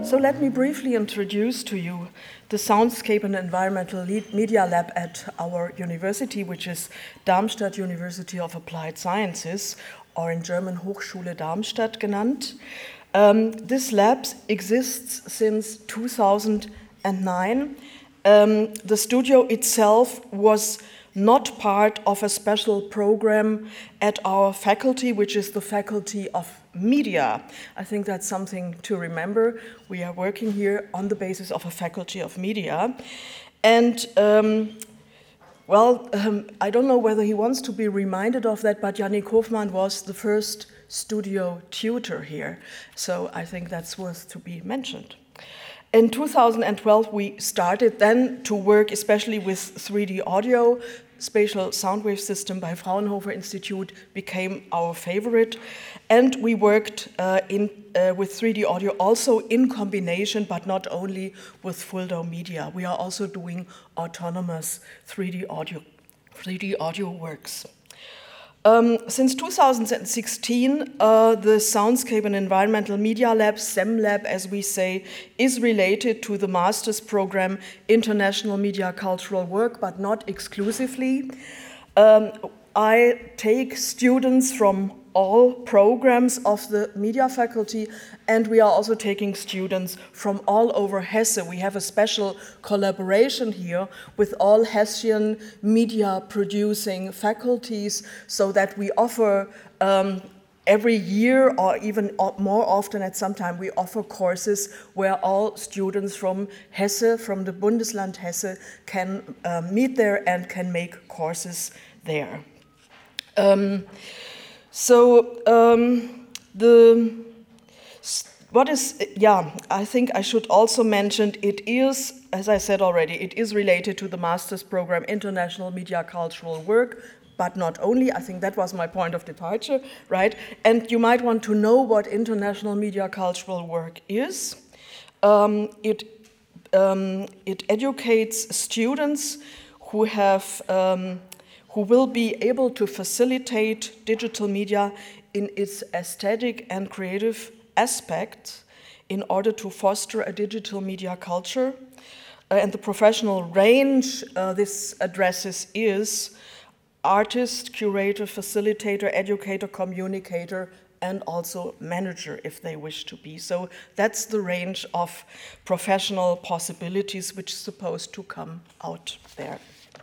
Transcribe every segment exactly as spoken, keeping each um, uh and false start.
so let me briefly introduce to you the Soundscape and Environmental Media Lab at our university, which is Darmstadt University of Applied Sciences, or in German Hochschule Darmstadt genannt. Um, this lab exists since two thousand nine. Um, the studio itself was not part of a special program at our faculty, which is the Faculty of Media. I think that's something to remember. We are working here on the basis of a Faculty of Media. And, um, well, um, I don't know whether he wants to be reminded of that, but Yannick Hofmann was the first studio tutor here. So I think that's worth to be mentioned. In two thousand twelve, we started then to work especially with three D audio. Spatial Sound Wave System by Fraunhofer Institute became our favorite. And we worked uh, in, uh, with three D audio also in combination, but not only with full dome media. We are also doing autonomous three D audio, three D audio works. Um, since two thousand sixteen, uh, the Soundscape and Environmental Media Lab, SEMLab as we say, is related to the master's program International Media Cultural Work, but not exclusively. Um, I take students from all programs of the media faculty, and we are also taking students from all over Hesse. We have a special collaboration here with all Hessian media producing faculties so that we offer um, every year, or even more often at some time, we offer courses where all students from Hesse, from the Bundesland Hesse, can uh, meet there and can make courses there. Um, So um, the what is yeah I think I should also mention it is, as I said already, it is related to the master's program International Media Cultural Work, but not only. I think that was my point of departure, right? And you might want to know what International Media Cultural Work is. Um, it um, it educates students who have um, who will be able to facilitate digital media in its aesthetic and creative aspects in order to foster a digital media culture. Uh, and the professional range uh, this addresses is artist, curator, facilitator, educator, communicator, and also manager if they wish to be. So that's the range of professional possibilities which is supposed to come out there.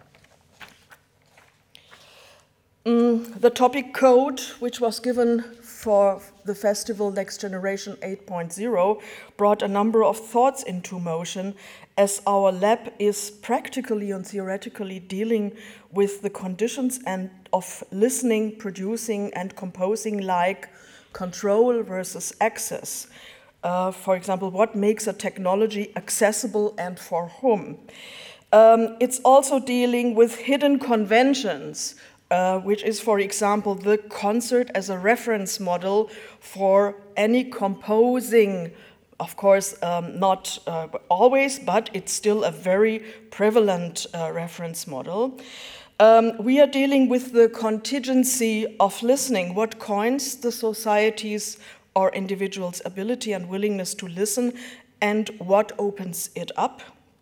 Mm, the topic code, which was given for the festival Next Generation eight point oh, brought a number of thoughts into motion, as our lab is practically and theoretically dealing with the conditions and of listening, producing, and composing, like control versus access. Uh, for example, what makes a technology accessible and for whom? Um, it's also dealing with hidden conventions, Uh, which is, for example, the concert as a reference model for any composing. Of course, um, not uh, always, but it's still a very prevalent uh, reference model. Um, we are dealing with the contingency of listening, what coins the society's or individuals' ability and willingness to listen, and what opens it up.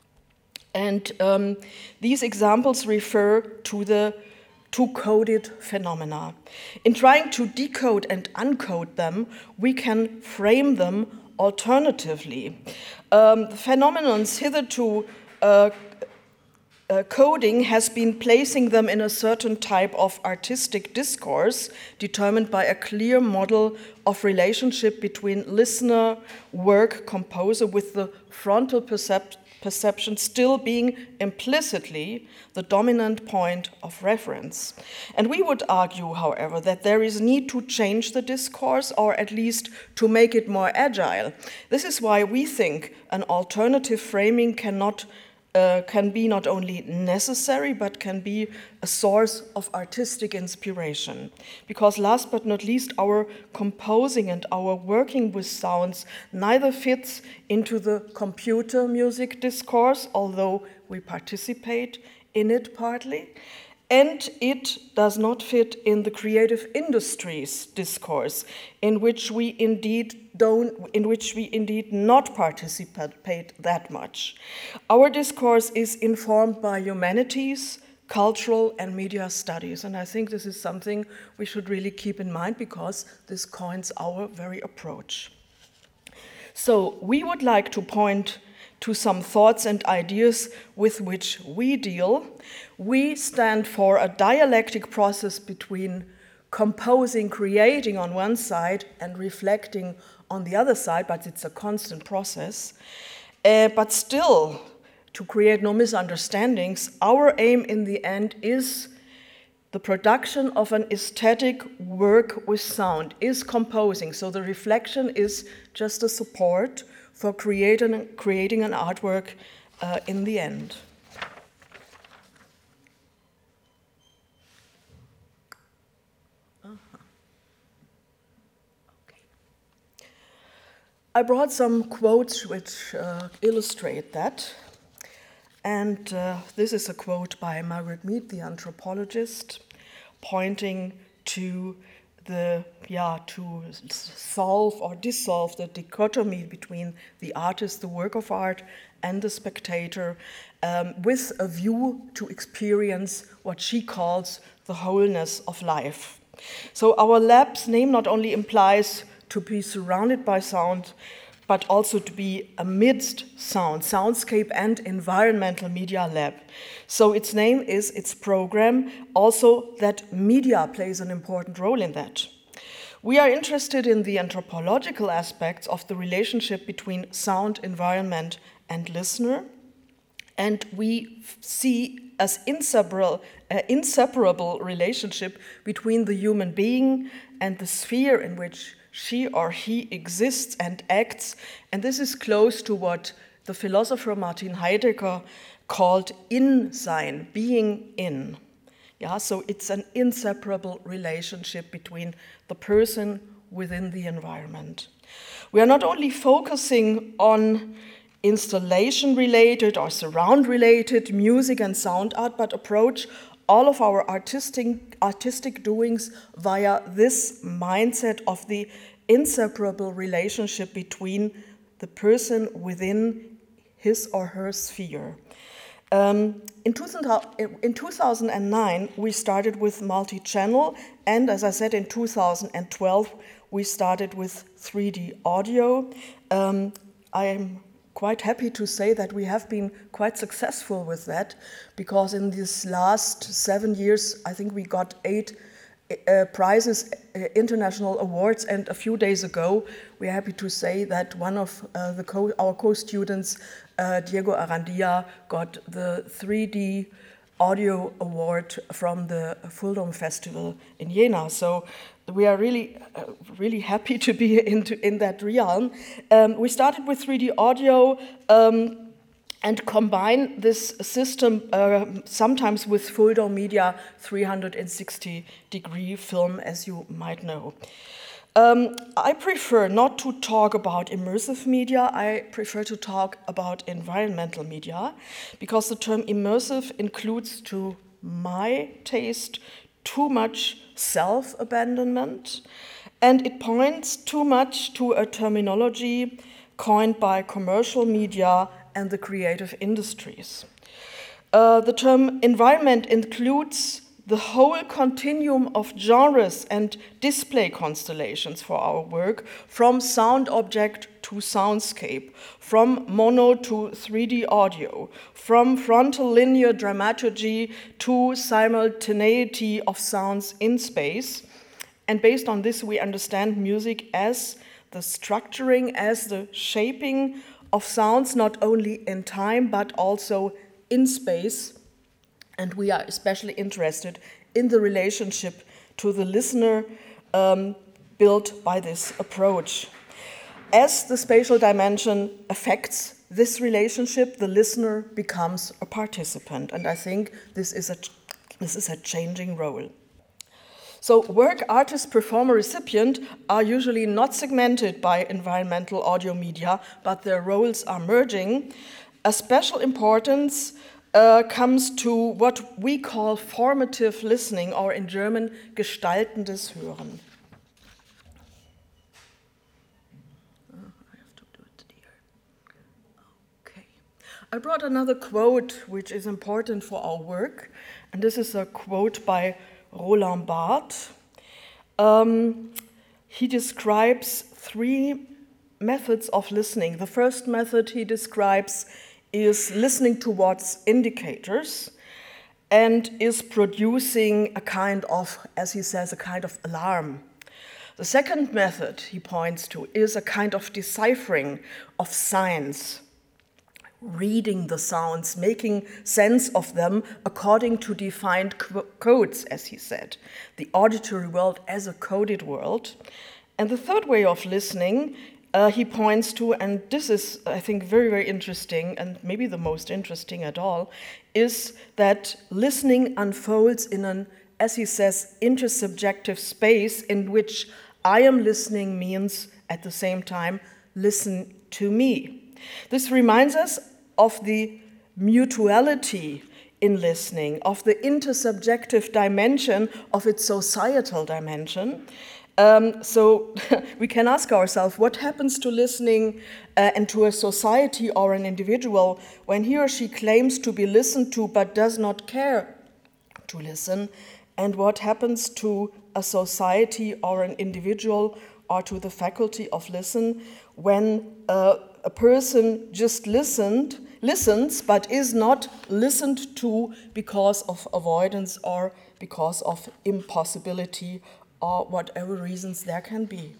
And um, these examples refer to the two-coded phenomena. In trying to decode and uncode them, we can frame them alternatively. Um, the phenomenons hitherto uh, uh, coding has been placing them in a certain type of artistic discourse determined by a clear model of relationship between listener, work, composer, with the frontal percept perception still being implicitly the dominant point of reference. And we would argue, however, that there is need to change the discourse, or at least to make it more agile. This is why we think an alternative framing cannot Uh, can be not only necessary, but can be a source of artistic inspiration. Because last but not least, our composing and our working with sounds neither fits into the computer music discourse, although we participate in it partly, and it does not fit in the creative industries discourse, in which we indeed don't, in which we indeed not participate that much. Our discourse is informed by humanities, cultural and media studies, and I think this is something we should really keep in mind because this coins our very approach. So we would like to point to some thoughts and ideas with which we deal. We stand for a dialectic process between composing, creating on one side and reflecting on the other side, but it's a constant process. Uh, but still, to create no misunderstandings, our aim in the end is the production of an aesthetic work with sound, is composing. So the reflection is just a support for creating, creating an artwork uh, in the end. Uh-huh. Okay. I brought some quotes which uh, illustrate that. And uh, this is a quote by Margaret Mead, the anthropologist, pointing to the, yeah, to solve or dissolve the dichotomy between the artist, the work of art, and the spectator, um, with a view to experience what she calls the wholeness of life. So our lab's name not only implies to be surrounded by sound, but also to be amidst sound, soundscape and environmental media lab. So its name is its program, also that media plays an important role in that. We are interested in the anthropological aspects of the relationship between sound, environment, and listener, and we see as inseparable, uh, inseparable relationship between the human being and the sphere in which she or he exists and acts, and this is close to what the philosopher Martin Heidegger called in-sein, being in. Yeah, so it's an inseparable relationship between the person within the environment. We are not only focusing on installation-related or surround-related music and sound art, but approach all of our artistic, artistic doings via this mindset of the inseparable relationship between the person within his or her sphere. Um, in, two thousand, in two thousand nine, we started with multi-channel, and as I said, in two thousand twelve, we started with three D audio. Um, I'm quite happy to say that we have been quite successful with that, because in these last seven years, I think we got eight uh, prizes, uh, international awards, and a few days ago, we're happy to say that one of uh, the co our co-students, uh, Diego Arandia, got the three D audio award from the Fuldom Festival in Jena. So we are really, uh, really happy to be into, in that realm. Um, we started with three D audio um, and combine this system uh, sometimes with Fuldom Media three sixty degree film, as you might know. Um, I prefer not to talk about immersive media, I prefer to talk about environmental media, because the term immersive includes, to my taste, too much self-abandonment, and it points too much to a terminology coined by commercial media and the creative industries. Uh, the term environment includes the whole continuum of genres and display constellations for our work, from sound object to soundscape, from mono to three D audio, from frontal linear dramaturgy to simultaneity of sounds in space. And based on this, we understand music as the structuring, as the shaping of sounds, not only in time, but also in space. And we are especially interested in the relationship to the listener um, built by this approach. As the spatial dimension affects this relationship, the listener becomes a participant. And I think this is a, this is a changing role. So work, artist, performer, recipient are usually not segmented by environmental audio media, but their roles are merging. A special importance uh, comes to what we call formative listening, or in German, gestaltendes Hören. I brought another quote which is important for our work, and this is a quote by Roland Barthes. Um, he describes three methods of listening. The first method he describes is listening towards indicators and is producing a kind of, as he says, a kind of alarm. The second method he points to is a kind of deciphering of signs, reading the sounds, making sense of them according to defined co- codes, as he said, the auditory world as a coded world. And the third way of listening uh, he points to, and this is, I think, very, very interesting, and maybe the most interesting at all, is that listening unfolds in an, as he says, intersubjective space in which I am listening means, at the same time, listen to me. This reminds us of the mutuality in listening, of the intersubjective dimension of its societal dimension. Um, so we can ask ourselves, what happens to listening uh, and to a society or an individual when he or she claims to be listened to but does not care to listen? And what happens to a society or an individual or to the faculty of listen when uh, a person just listened, listens but is not listened to because of avoidance or because of impossibility or whatever reasons there can be.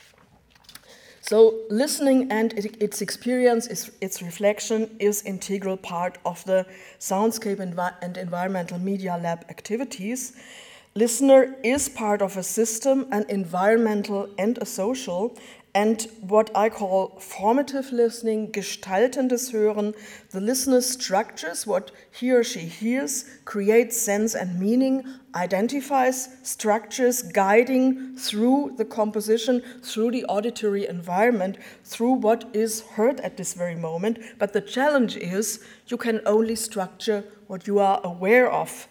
So listening and its experience, its reflection, is integral part of the Soundscape and Environmental Media Lab activities. Listener is part of a system, an environmental and a social, and what I call formative listening, gestaltendes Hören. The listener structures what he or she hears, creates sense and meaning, identifies structures guiding through the composition, through the auditory environment, through what is heard at this very moment. But the challenge is you can only structure what you are aware of.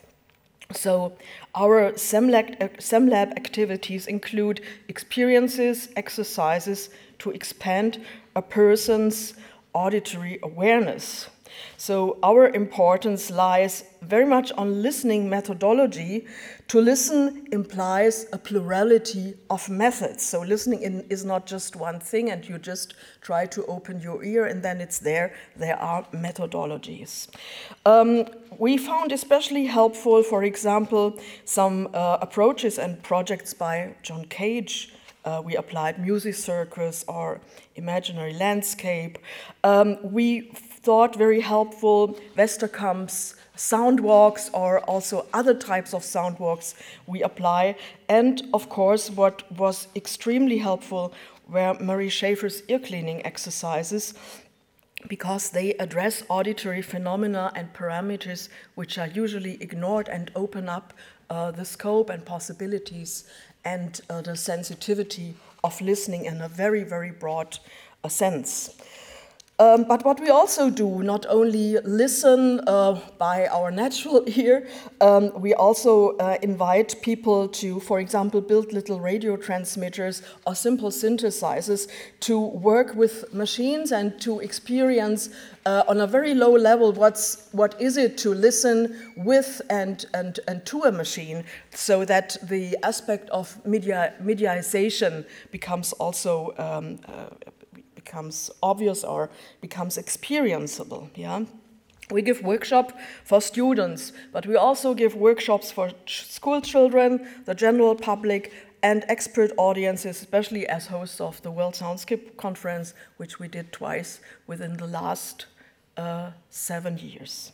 So our SEMLab, SEMLab activities include experiences, exercises to expand a person's auditory awareness. So our importance lies very much on listening methodology. To listen implies a plurality of methods. So listening in, is not just one thing and you just try to open your ear and then it's there. There are methodologies. Um, we found especially helpful, for example, some uh, approaches and projects by John Cage. Uh, we applied music circus or imaginary landscape. Um, we thought very helpful Westerkamp's sound walks or also other types of sound walks we apply. And of course, what was extremely helpful were Marie Schaefer's ear cleaning exercises, because they address auditory phenomena and parameters which are usually ignored and open up uh, the scope and possibilities and uh, the sensitivity of listening in a very, very broad uh, sense. Um, but what we also do, not only listen uh, by our natural ear, um, we also uh, invite people to, for example, build little radio transmitters or simple synthesizers to work with machines and to experience uh, on a very low level what's, what is it to listen with and, and, and to a machine, so that the aspect of media, medialization becomes also um, uh, becomes obvious or becomes experienceable. Yeah? We give workshops for students, but we also give workshops for ch- school children, the general public, and expert audiences, especially as hosts of the World Soundscape Conference, which we did twice within the last uh, seven years.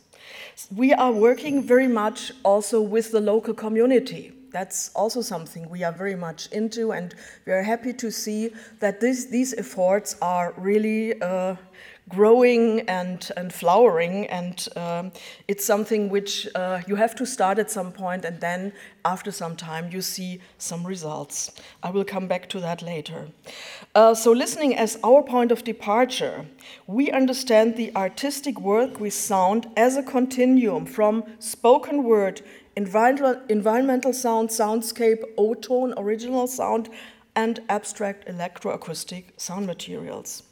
We are working very much also with the local community. That's also something we are very much into, and we are happy to see that this, these efforts are really uh, growing and, and flowering, and um, it's something which uh, you have to start at some point, and then after some time you see some results. I will come back to that later. Uh, so listening as our point of departure, we understand the artistic work with sound as a continuum from spoken word, environmental, environmental sound, soundscape, O-tone, original sound, and abstract electroacoustic sound materials.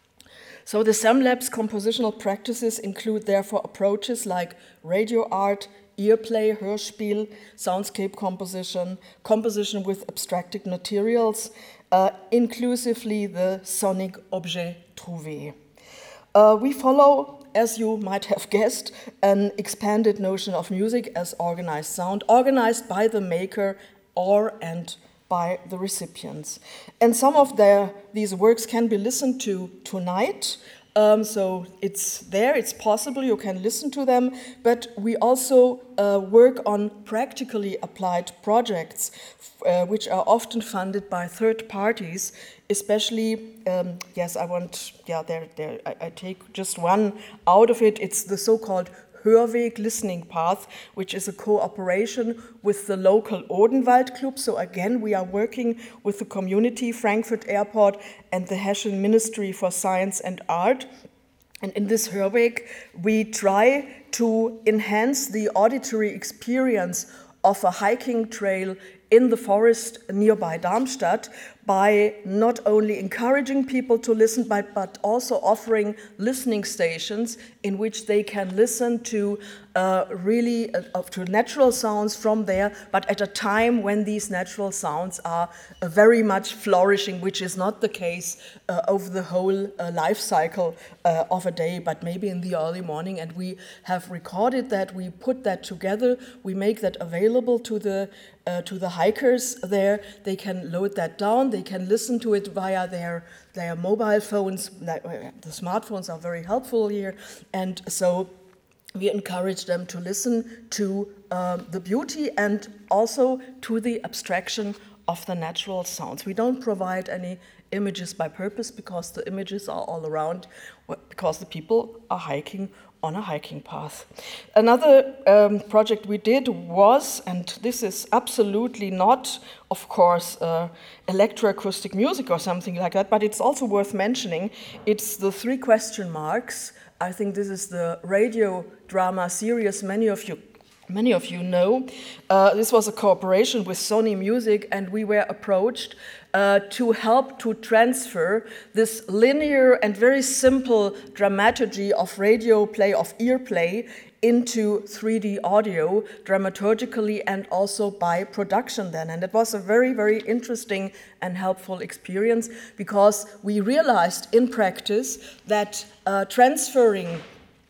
So the SEMLab's compositional practices include therefore approaches like radio art, earplay, Hörspiel, soundscape composition, composition with abstracted materials, uh, inclusively the sonic objet trouvé. Uh, we follow, as you might have guessed, an expanded notion of music as organized sound, organized by the maker or and by the recipients. And some of their, these works can be listened to tonight. Um, so it's there, it's possible, you can listen to them, but we also uh, work on practically applied projects, uh, which are often funded by third parties, especially, um, yes, I want, yeah, there, there, I, I take just one out of it, it's the so-called Hörweg listening path, which is a cooperation with the local Odenwald Club. So again, we are working with the community, Frankfurt Airport, and the Hessian Ministry for Science and Art. And in this Hörweg, we try to enhance the auditory experience of a hiking trail in the forest nearby Darmstadt by not only encouraging people to listen, but, but also offering listening stations in which they can listen to uh, really uh, to natural sounds from there, but at a time when these natural sounds are uh, very much flourishing, which is not the case uh, over the whole uh, life cycle uh, of a day, but maybe in the early morning. And we have recorded that, we put that together, we make that available to the Uh, to the hikers there. They can load that down, they can listen to it via their, their mobile phones. The smartphones are very helpful here, and so we encourage them to listen to um, the beauty and also to the abstraction of the natural sounds. We don't provide any images by purpose because the images are all around, because the people are hiking on a hiking path. Another um, project we did was, and this is absolutely not, of course, uh, electroacoustic music or something like that, but it's also worth mentioning, it's the three question marks. I think this is the radio drama series many of you Many of you know. Uh, this was a cooperation with Sony Music, and we were approached uh, to help to transfer this linear and very simple dramaturgy of radio play, of ear play, into three D audio, dramaturgically and also by production then. And it was a very, very interesting and helpful experience because we realized in practice that uh, transferring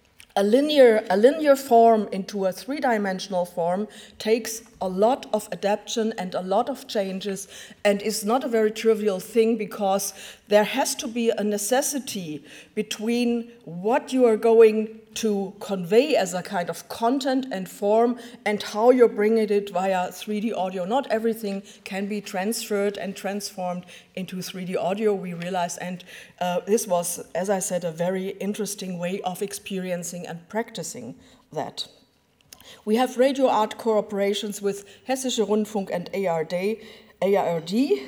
A linear, a linear form into a three-dimensional form takes a lot of adaptation and a lot of changes and is not a very trivial thing because there has to be a necessity between what you are going to convey as a kind of content and form and how you're bringing it via three D audio. Not everything can be transferred and transformed into three D audio, we realized, and uh, this was, as I said, a very interesting way of experiencing and practicing that. We have radio art cooperations with Hessische Rundfunk and A R D, A R D,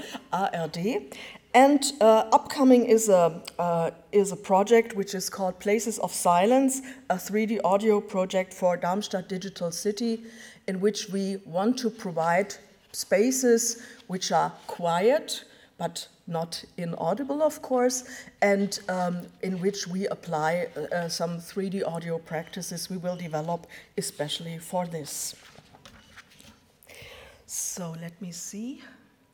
A R D. And uh, upcoming is a, uh, is a project which is called Places of Silence, a three D audio project for Darmstadt Digital City, in which we want to provide spaces which are quiet, but not inaudible, of course, and um, in which we apply uh, some three D audio practices we will develop especially for this. So let me see.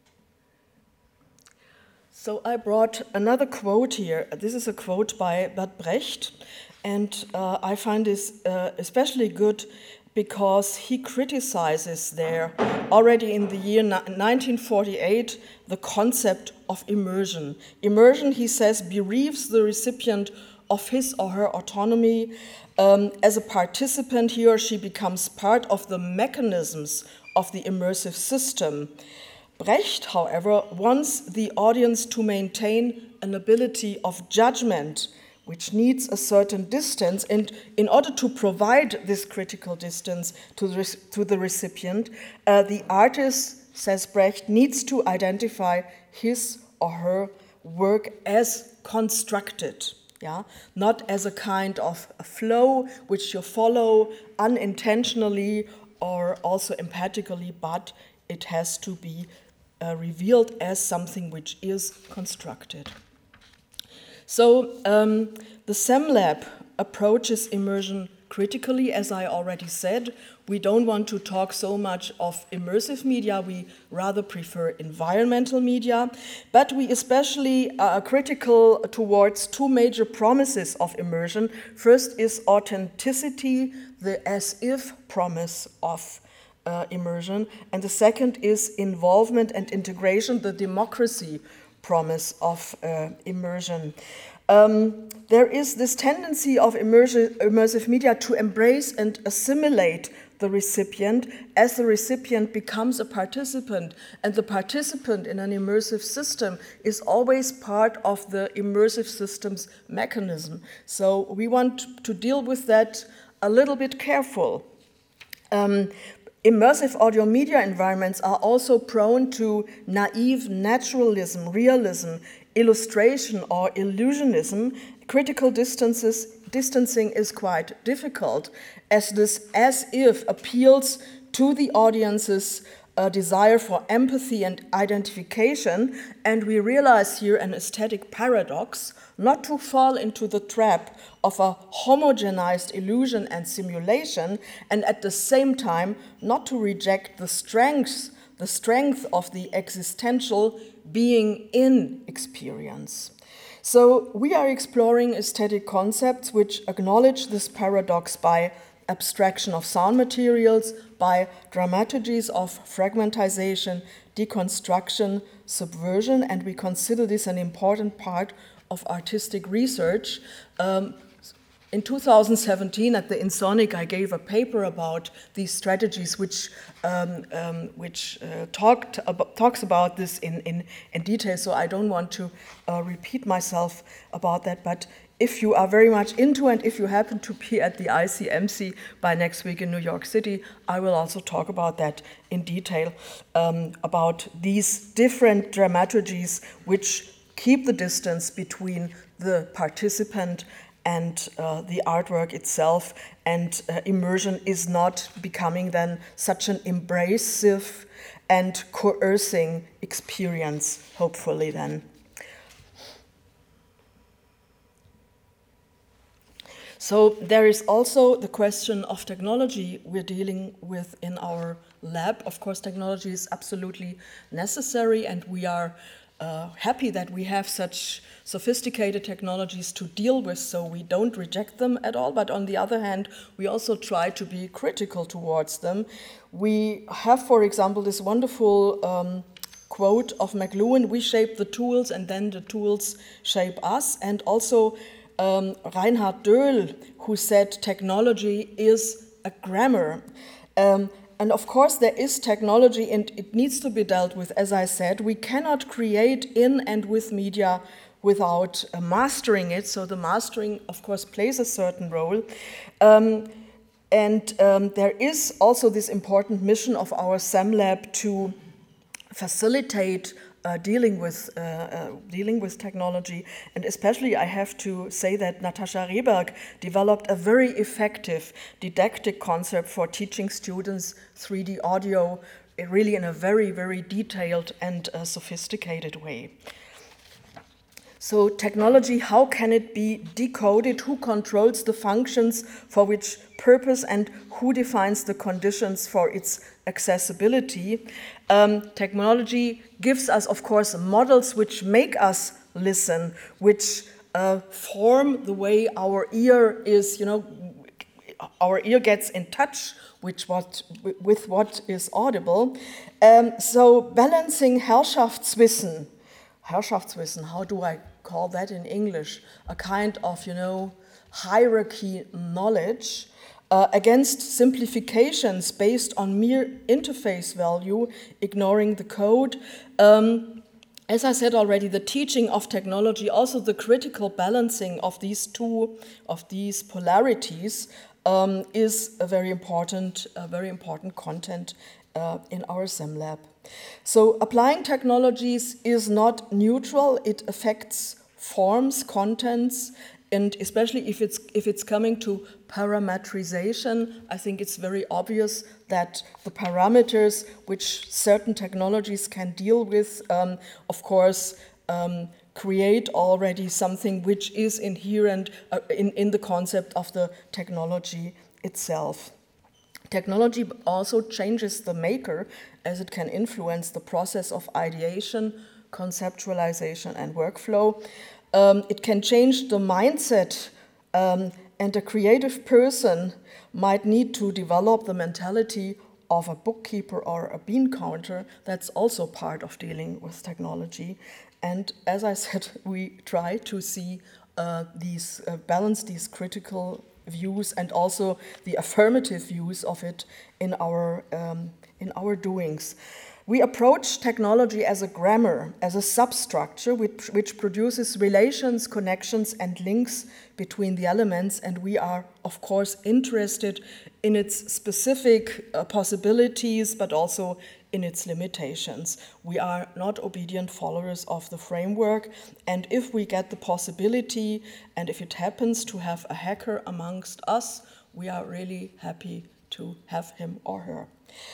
So I brought another quote here. This is a quote by Bert Brecht, and uh, I find this uh, especially good because he criticizes there, already in the year nineteen forty-eight, the concept of immersion. Immersion, he says, bereaves the recipient of his or her autonomy. Um, as a participant, he or she becomes part of the mechanisms of the immersive system. Brecht, however, wants the audience to maintain an ability of judgment which needs a certain distance. And in order to provide this critical distance to the, to the recipient, uh, the artist, says Brecht, needs to identify his or her work as constructed, yeah, not as a kind of a flow which you follow unintentionally or also empathically, but it has to be uh, revealed as something which is constructed. So um, the SEMLab approaches immersion critically, as I already said. We don't want to talk so much of immersive media, we rather prefer environmental media, but we especially are critical towards two major promises of immersion. First is authenticity, the as-if promise of uh, immersion, and the second is involvement and integration, the democracy promise of uh, immersion. Um, there is this tendency of immersive, immersive media to embrace and assimilate the recipient as the recipient becomes a participant, and the participant in an immersive system is always part of the immersive system's mechanism. So we want to deal with that a little bit careful. Um, Immersive audio media environments are also prone to naive naturalism, realism, illustration, or illusionism. Critical distances, distancing is quite difficult, as this as-if appeals to the audience's uh, desire for empathy and identification, and we realize here an aesthetic paradox, not to fall into the trap of a homogenized illusion and simulation, and at the same time not to reject the strengths, the strength of the existential being in experience. So we are exploring aesthetic concepts which acknowledge this paradox by abstraction of sound materials, by dramaturgies of fragmentization, deconstruction, subversion, and we consider this an important part of artistic research. Um, in two thousand seventeen, at the InSonic, I gave a paper about these strategies, which um, um, which uh, talked about, talks about this in, in, in detail. So I don't want to uh, repeat myself about that. But if you are very much into, and if you happen to be at the I C M C by next week in New York City, I will also talk about that in detail, um, about these different dramaturgies which keep the distance between the participant and uh, the artwork itself, and uh, immersion is not becoming then such an embracive and coercing experience, hopefully then. So there is also the question of technology we're dealing with in our lab. Of course, technology is absolutely necessary, and we are uh, happy that we have such sophisticated technologies to deal with, so we don't reject them at all. But on the other hand, we also try to be critical towards them. We have, for example, this wonderful um, quote of McLuhan: "We shape the tools, and then the tools shape us." And also um, Reinhard Döhl, who said technology is a grammar. Um, And of course, there is technology, and it needs to be dealt with. As I said, we cannot create in and with media without uh, mastering it. So the mastering, of course, plays a certain role. Um, and um, there is also this important mission of our SEMLab to facilitate Uh, dealing with uh, uh, dealing with technology, and especially I have to say that Natascha Rehberg developed a very effective didactic concept for teaching students three D audio, really in a very, very detailed and uh, sophisticated way. So technology, how can it be decoded? Who controls the functions, for which purpose, and who defines the conditions for its accessibility? Um, technology gives us, of course, models which make us listen, which uh, form the way our ear is, you know, our ear gets in touch with what, with what is audible. Um, so balancing Herrschaftswissen, Herrschaftswissen, how do I call that in English? A kind of, you know, hierarchy knowledge uh, against simplifications based on mere interface value, ignoring the code. Um, As I said already, the teaching of technology, also the critical balancing of these two, of these polarities, um, is a very important, a very important content uh, in our SEMLab. So applying technologies is not neutral. It affects forms, contents, and especially if it's, if it's coming to parametrization, I think it's very obvious that the parameters which certain technologies can deal with, um, of course, um, create already something which is inherent uh, in, in the concept of the technology itself. Technology also changes the maker, as it can influence the process of ideation, conceptualization, and workflow. Um, it can change the mindset, um, and a creative person might need to develop the mentality of a bookkeeper or a bean counter. That's also part of dealing with technology. And as I said, we try to see uh, these, uh, balance these critical views and also the affirmative views of it in our, um, in our doings. We approach technology as a grammar, as a substructure which, which produces relations, connections, and links between the elements, and we are, of course, interested in its specific uh, possibilities, but also in its limitations. We are not obedient followers of the framework, and if we get the possibility, and if it happens to have a hacker amongst us, we are really happy to have him or her.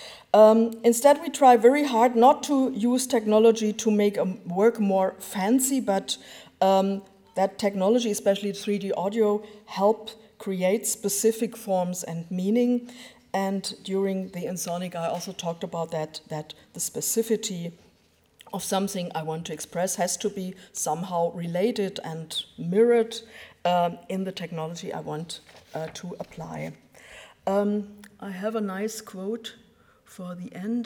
Um, instead, we try very hard not to use technology to make a work more fancy, but um, that technology, especially three D audio, help create specific forms and meaning. And during the InSonic, I also talked about that, that the specificity of something I want to express has to be somehow related and mirrored um, in the technology I want uh, to apply. Um, I have a nice quote for the end.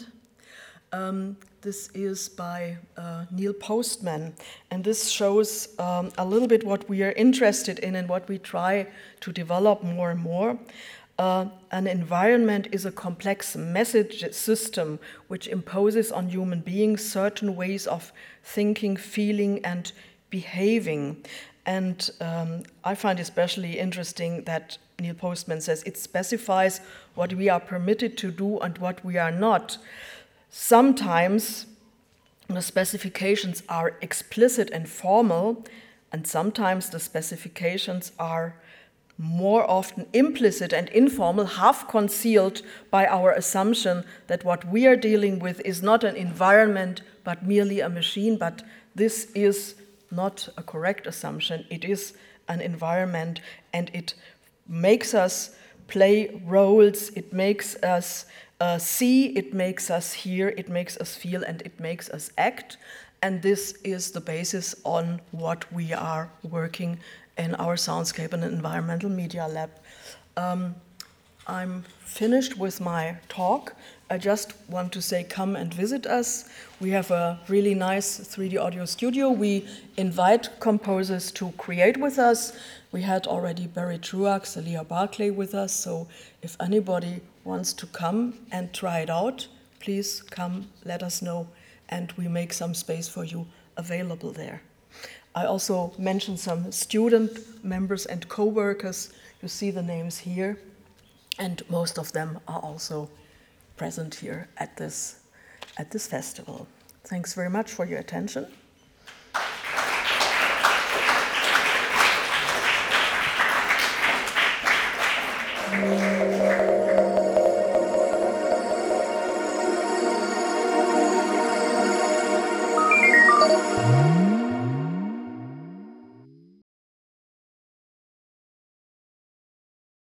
Um, this is by uh, Neil Postman, and this shows um, a little bit what we are interested in and what we try to develop more and more. Uh, an environment is a complex message system which imposes on human beings certain ways of thinking, feeling, and behaving. And um, I find especially interesting that Neil Postman says it specifies what we are permitted to do and what we are not. Sometimes the specifications are explicit and formal, and sometimes the specifications are more often implicit and informal, half concealed by our assumption that what we are dealing with is not an environment but merely a machine. But this is not a correct assumption. It is an environment, and it makes us play roles, it makes us uh, see, it makes us hear, it makes us feel, and it makes us act. And this is the basis on what we are working in our Soundscape and Environmental Media Lab. Um, I'm finished with my talk. I just want to say, come and visit us. We have a really nice three D audio studio. We invite composers to create with us. We had already Barry Truax, Celia Barclay with us, so if anybody wants to come and try it out, please come, let us know, and we make some space for you available there. I also mentioned some student members and co-workers. You see the names here, and most of them are also present here at this, at this festival. Thanks very much for your attention.